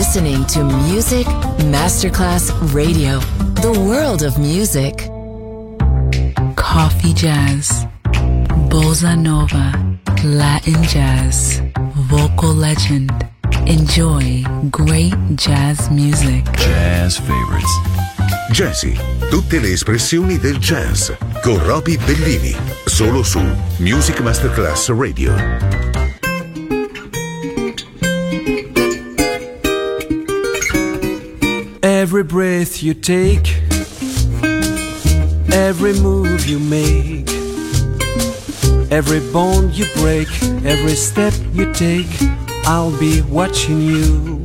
listening to Music Masterclass Radio, the world of music. Coffee jazz, bossa nova, Latin jazz, vocal legend. Enjoy great jazz music. Jazz favorites. Jazzy, tutte le espressioni del jazz con Roby Bellini, solo su Music Masterclass Radio. Every breath you take, every move you make, every bond you break, every step you take, I'll be watching you.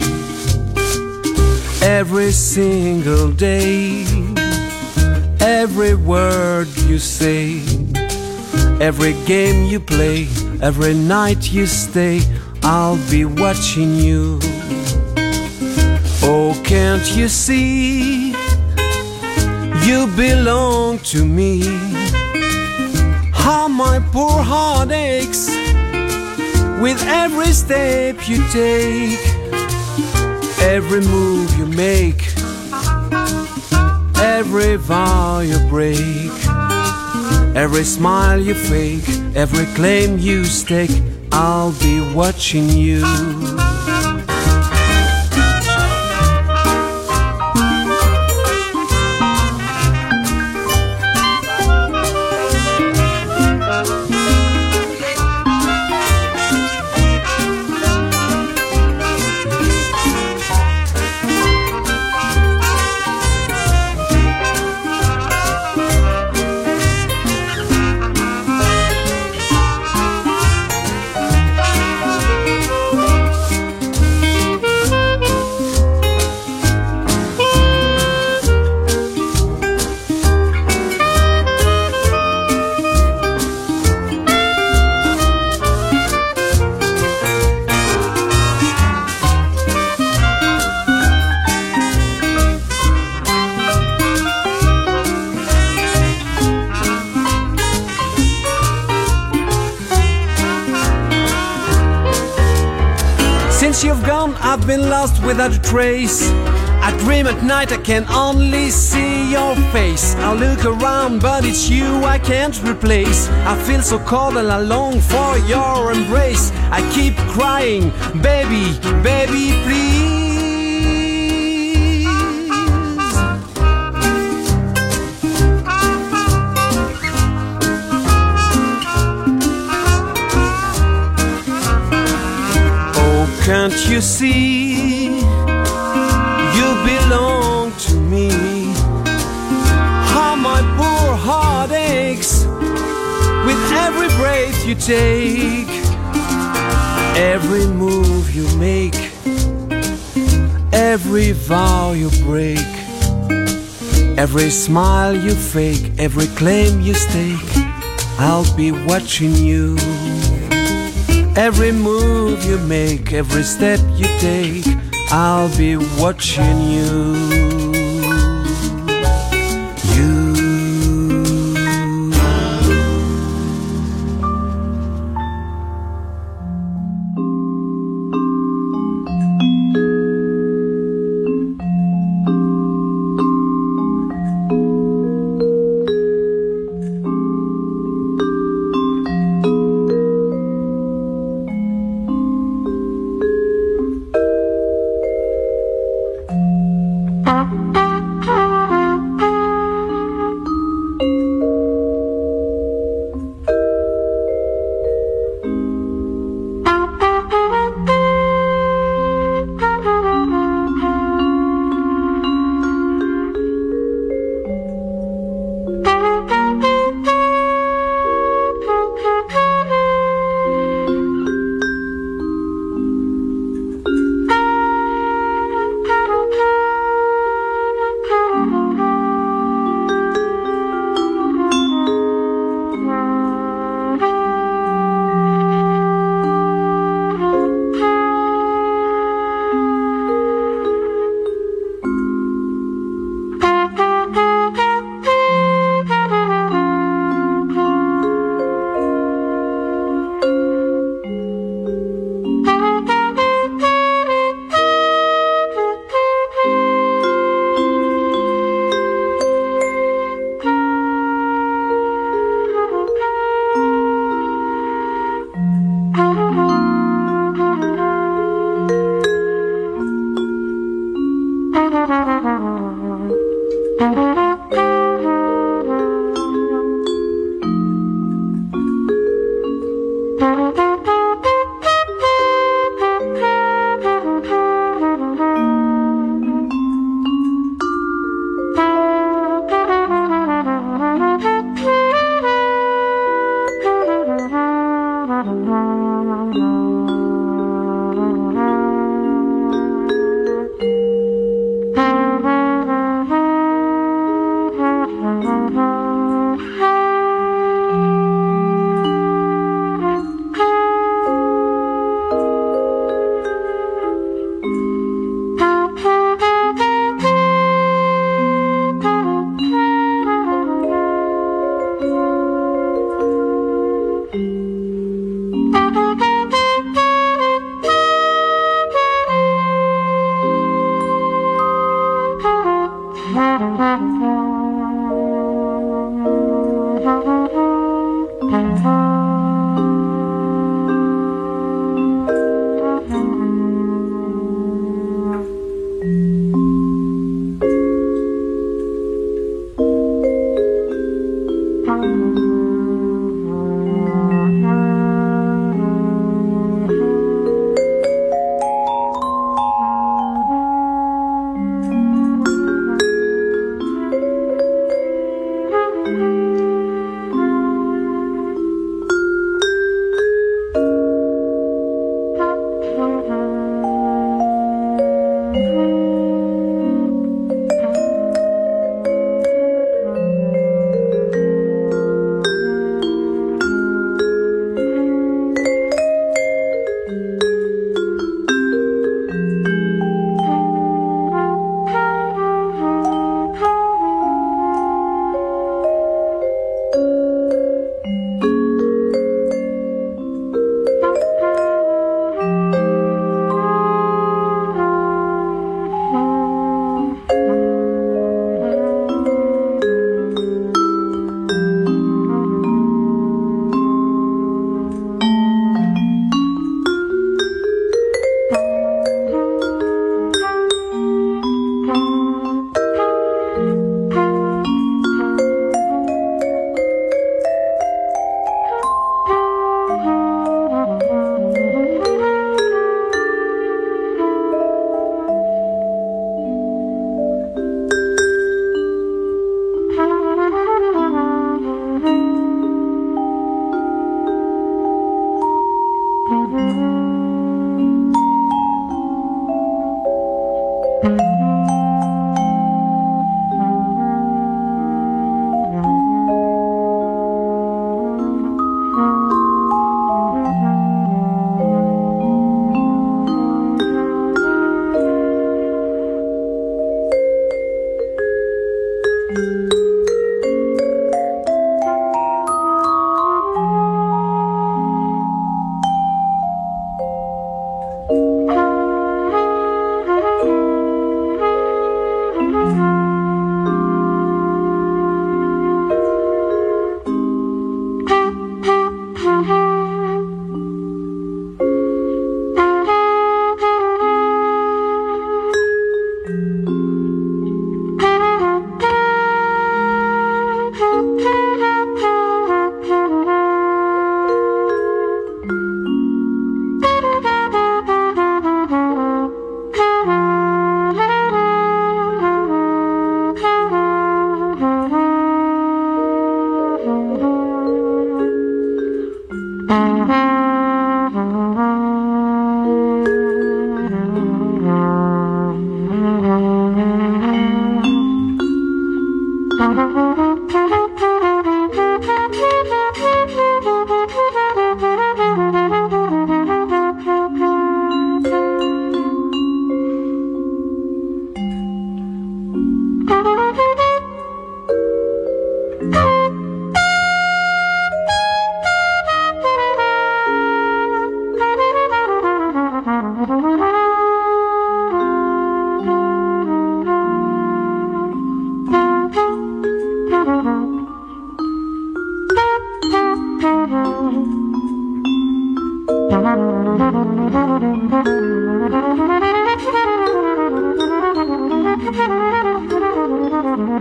Every single day, every word you say, every game you play, every night you stay, I'll be watching you. Oh, can't you see, you belong to me. How my poor heart aches with every step you take, every move you make, every vow you break, every smile you fake, every claim you stake, I'll be watching you. I've been lost without a trace. I dream at night, I can only see your face. I look around, but it's you I can't replace. I feel so cold and I long for your embrace. I keep crying, baby, baby, please. Can't you see, you belong to me. How my poor heart aches with every breath you take, every move you make, every vow you break, every smile you fake, every claim you stake, I'll be watching you. Every move you make, every step you take, I'll be watching you.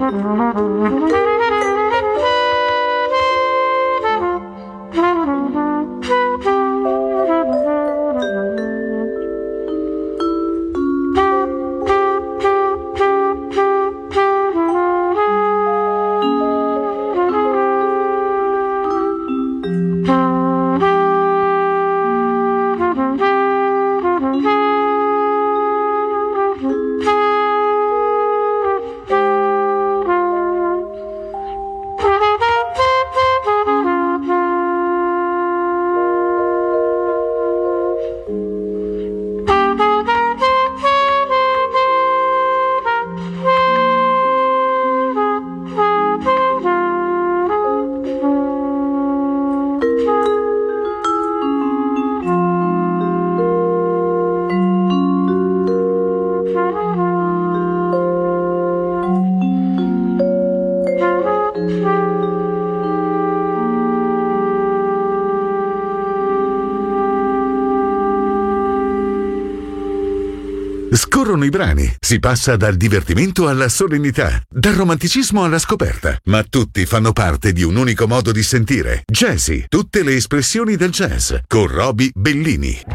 Scorrono i brani, si passa dal divertimento alla solennità, dal romanticismo alla scoperta, ma tutti fanno parte di un unico modo di sentire. Jazzy, tutte le espressioni del jazz, con Roby Bellini.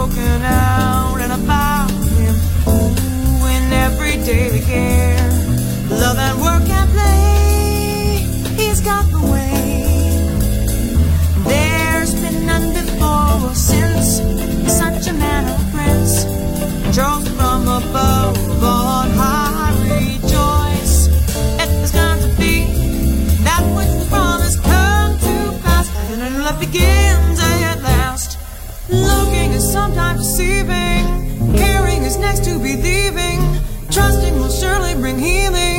spoken out and about him. Ooh, in everyday care, love and work and play, he's got the way. There's been none before or since, such a man of prince, chose from above on high. Rejoice, it has come to be, that which was promised come to pass, and then love begins at last. Looking is sometimes deceiving, caring is next to believing, trusting will surely bring healing.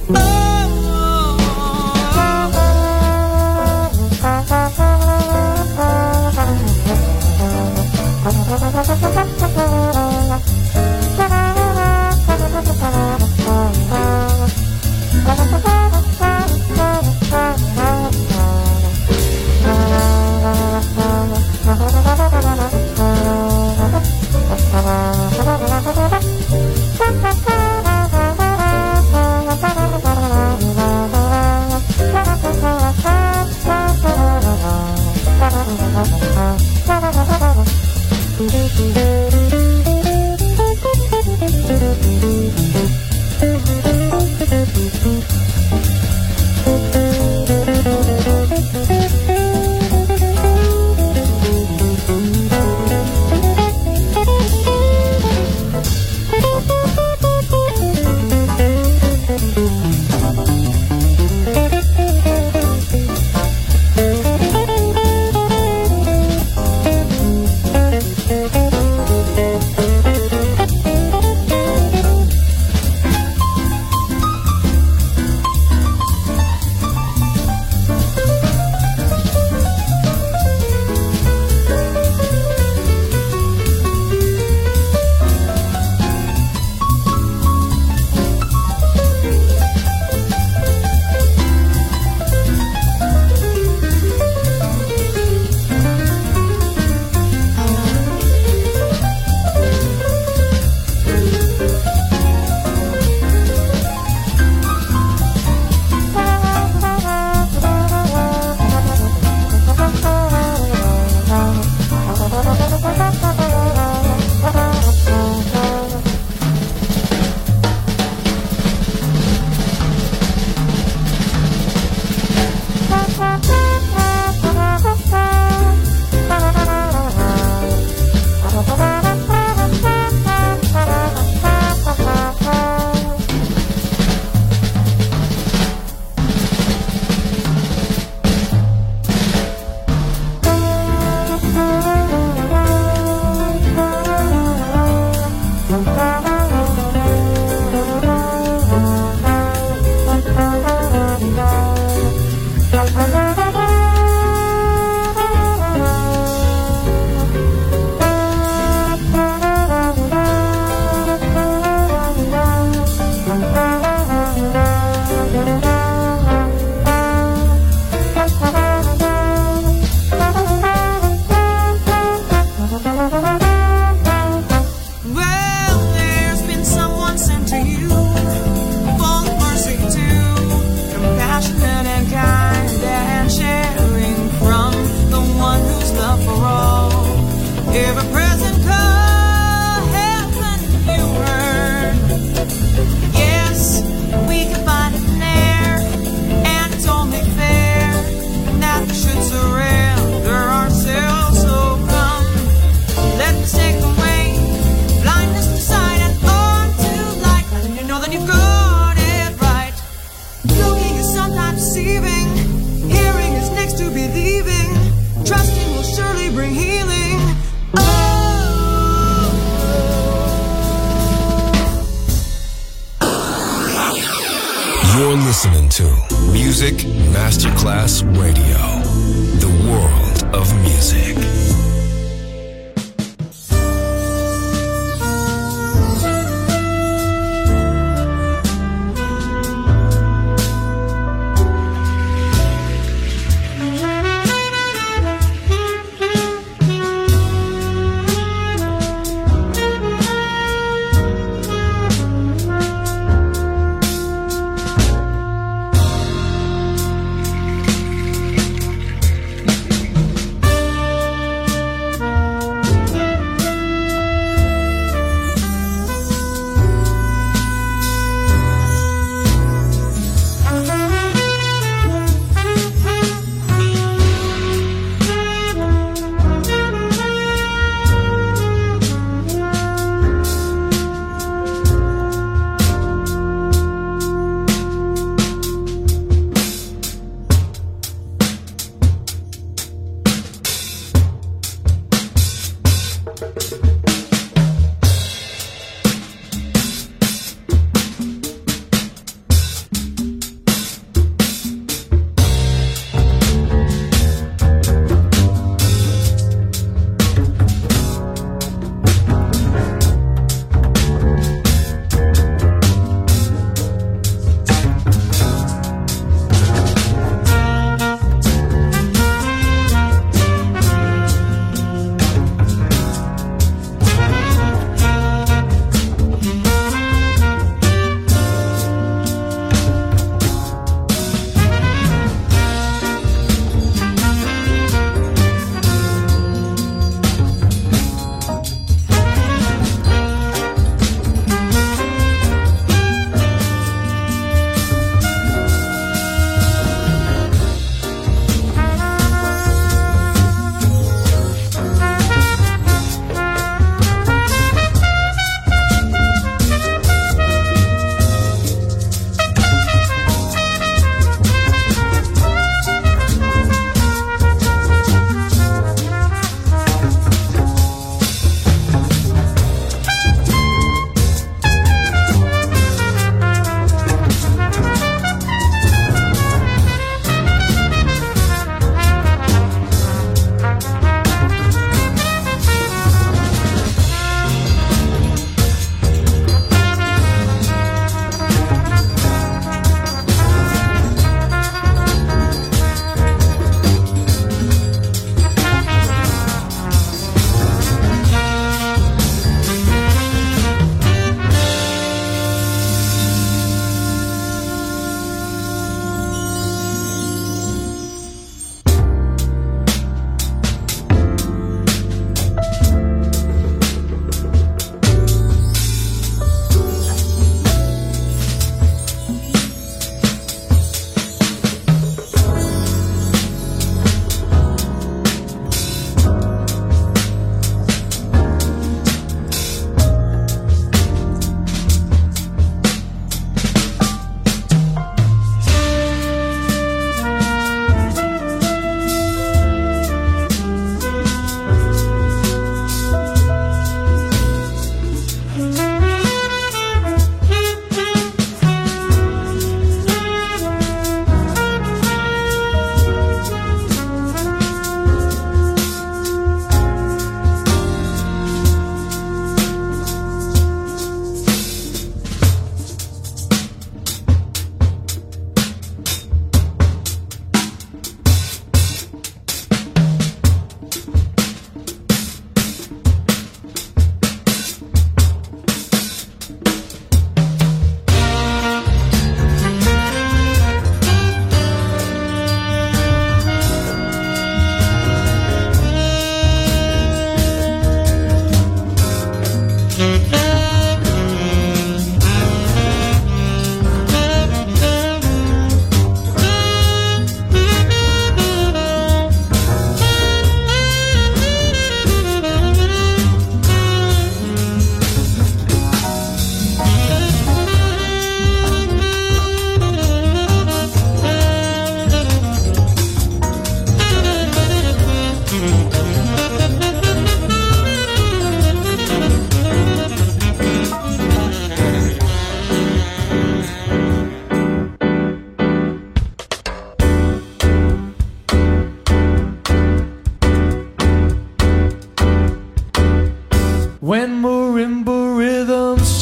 You're listening to Music Masterclass Radio, the world of music.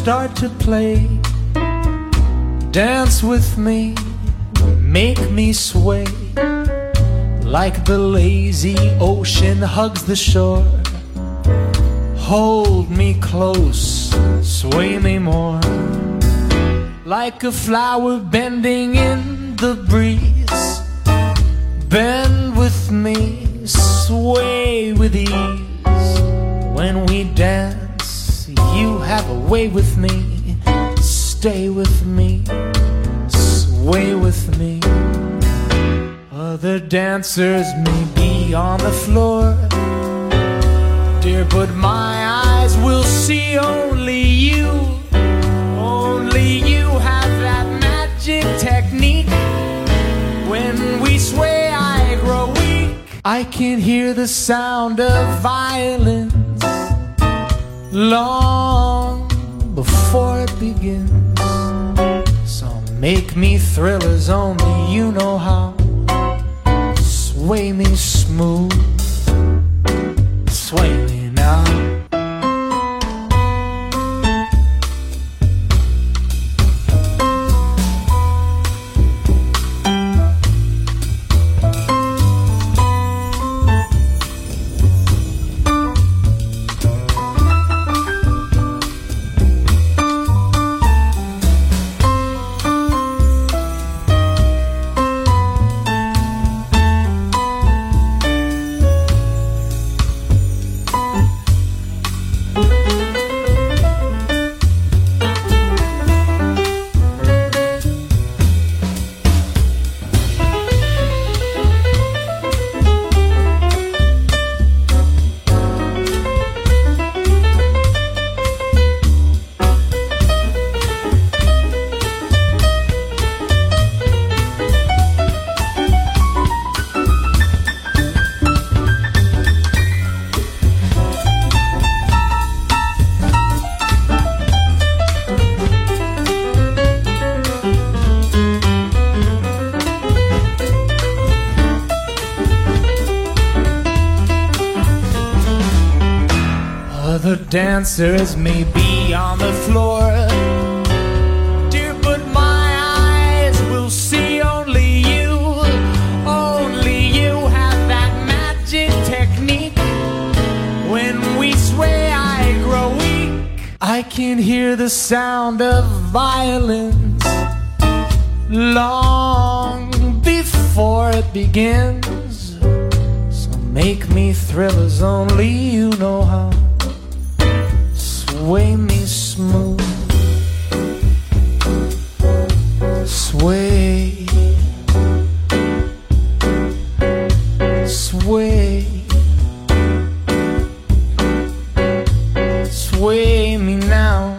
start to play. Dance with me, make me sway, like the lazy ocean hugs the shore. Hold me close, sway me more, like a flower bending in the breeze. Bend with me, sway with ease. When we dance, you have a way with me. Stay with me, sway with me. Other dancers may be on the floor, dear, but my eyes will see only you. Only you have that magic technique. When we sway, I grow weak. I can hear the sound of violins long before it begins. So make me thrill as only you know how. Sway me smooth, sway me now. Dancers may be on the floor, dear, but my eyes will see only you. Only you have that magic technique. When we sway, I grow weak. I can hear the sound of violins long before it begins. So make me thrill as only you know how. Sway me smooth, sway, sway, sway me now,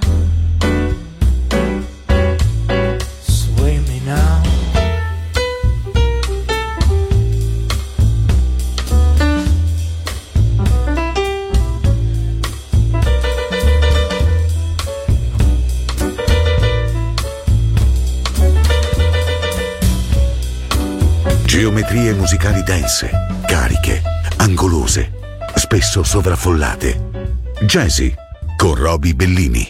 sway me now. Geometrie musicali dense, cariche, angolose, spesso sovraffollate. Jazzy con Roby Bellini.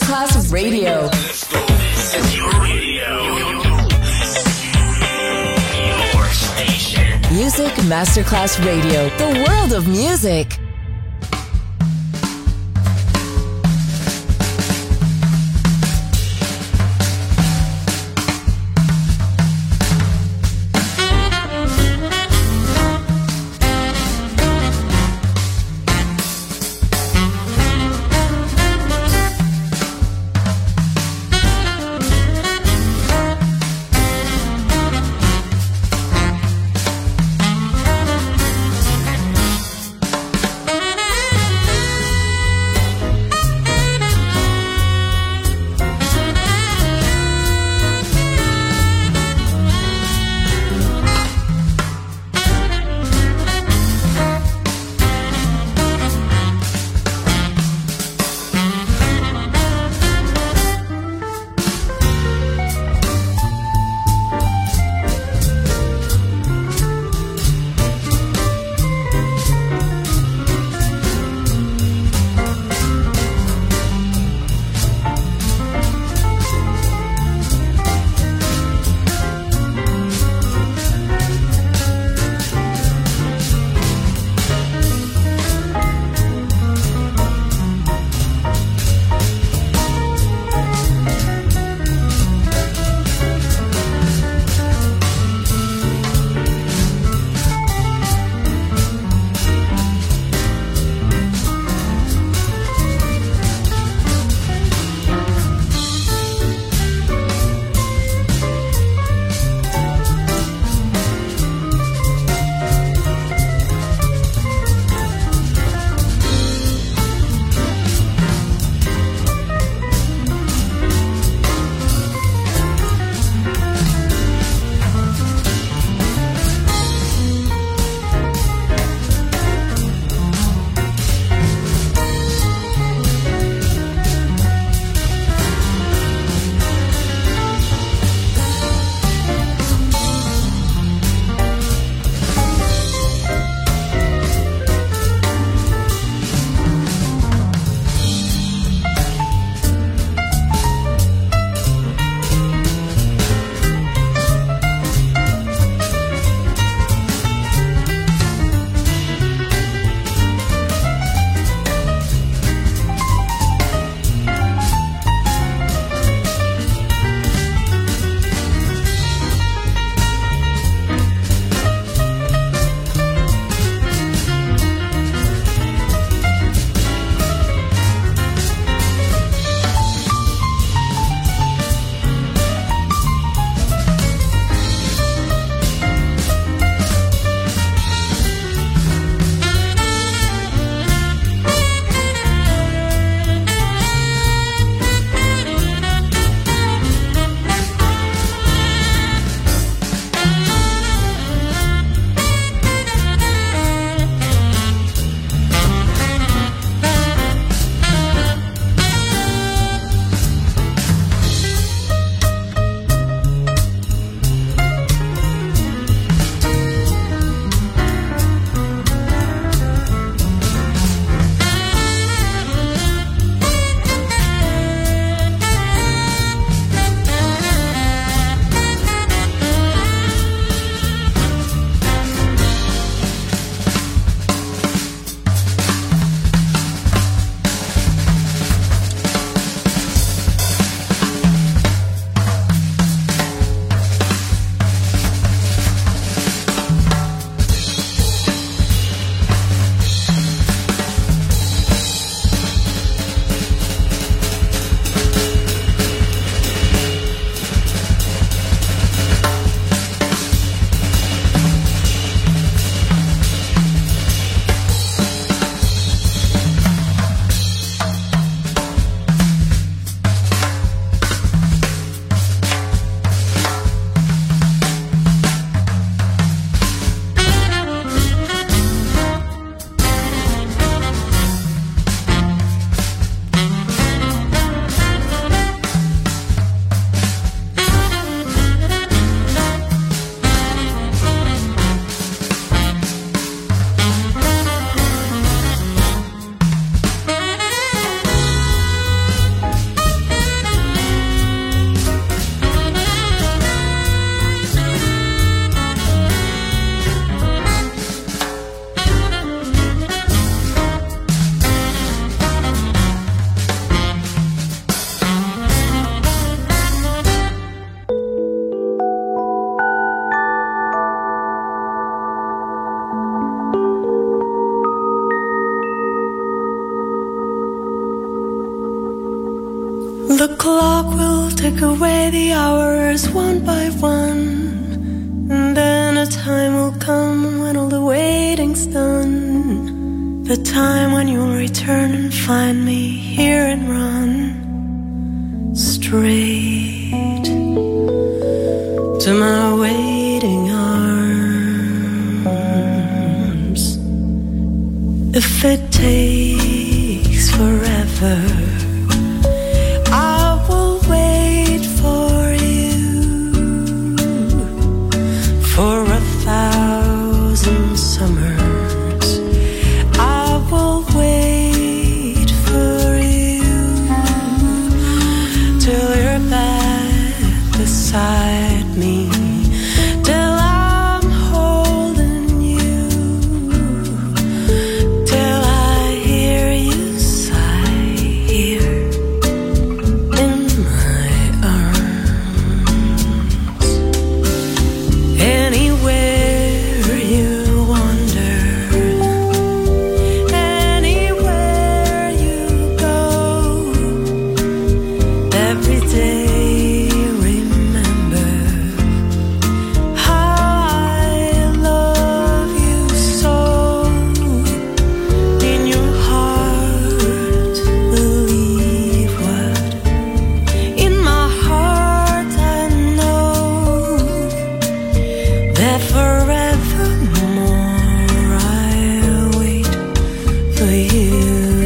Masterclass Radio. This is your radio. Your station. Music Masterclass Radio. The world of music. The clock will take away the hours one by one, and then a time will come when all the waiting's done. The time when you'll return and find me here and run straight to my waiting arms. If it takes forever, I will wait for you for 1,000 summers. I will wait for you till you're back beside me, till I'm holding you, till I hear you sigh here in my arms. Anywhere you wander, anywhere you go, every day remember how I love you so. In your heart, believe what in my heart I know, that forevermore I'll wait for you.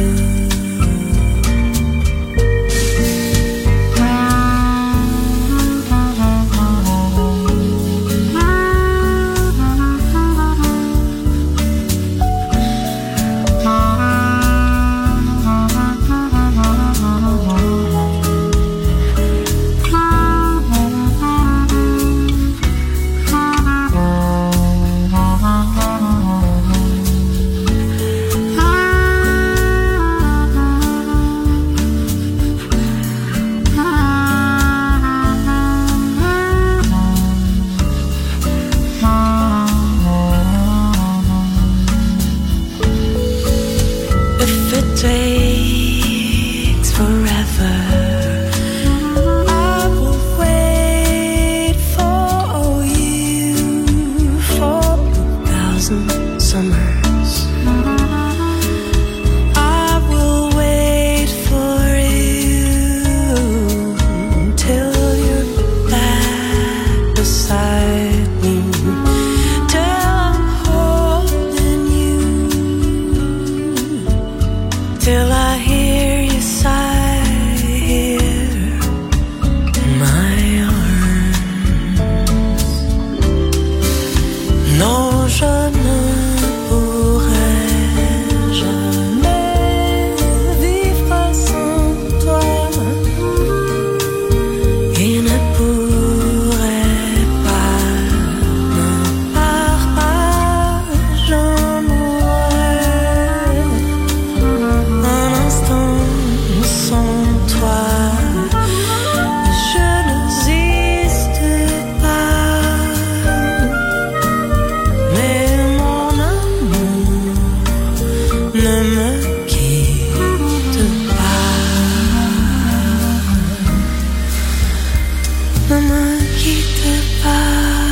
If it takes forever, I will wait for you for 1,000 summers. I will wait for you till you're back beside me, till I'm holding you, till I hear you sigh here in my arms. Non, je ne pourrai jamais vivre sans toi, et ne pourrai pas me partager. Un instant sans toi, je n'existe pas. Mais mon amour, ne me quitte pas, ne me quitte pas.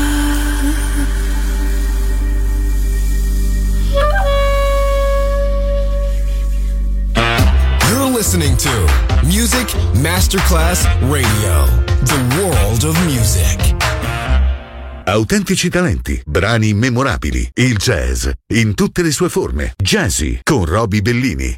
You're listening to Music Masterclass Radio, the world of music. Autentici talenti, brani memorabili, il jazz in tutte le sue forme. Jazzy con Roby Bellini.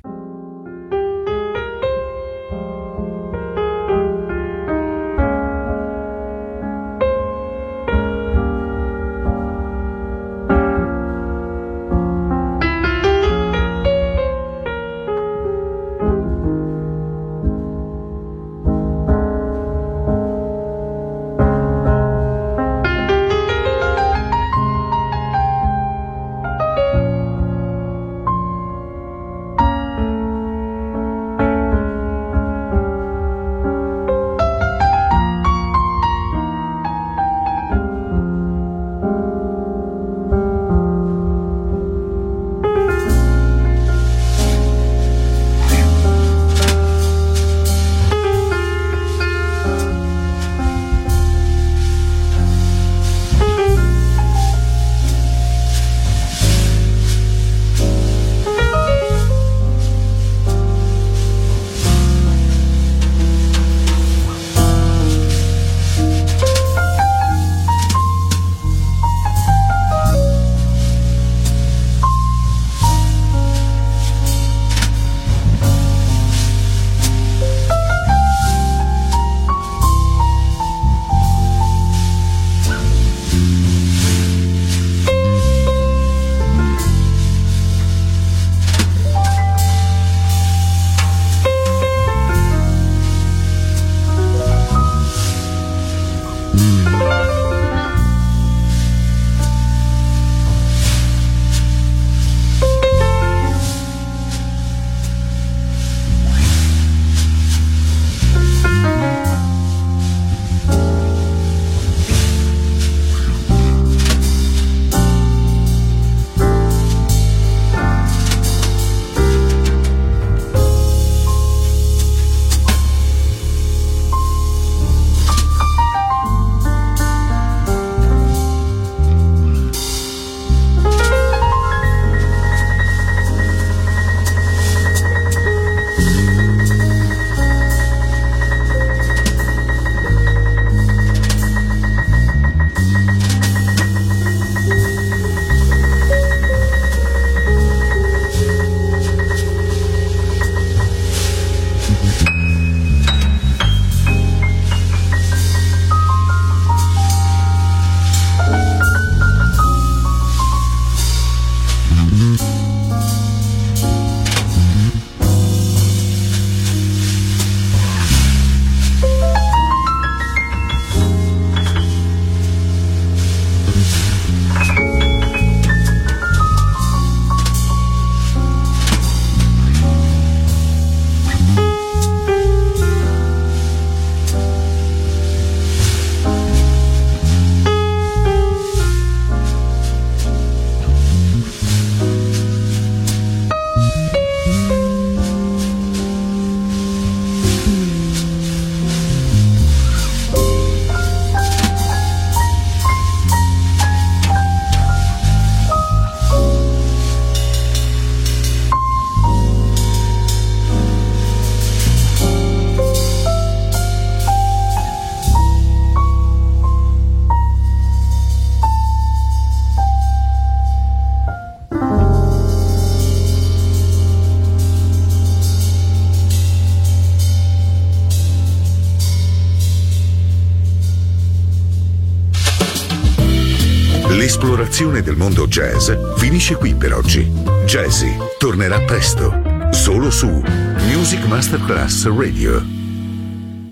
L'esplorazione del mondo jazz finisce qui per oggi. Jazzy tornerà presto, solo su Music Masterclass Radio.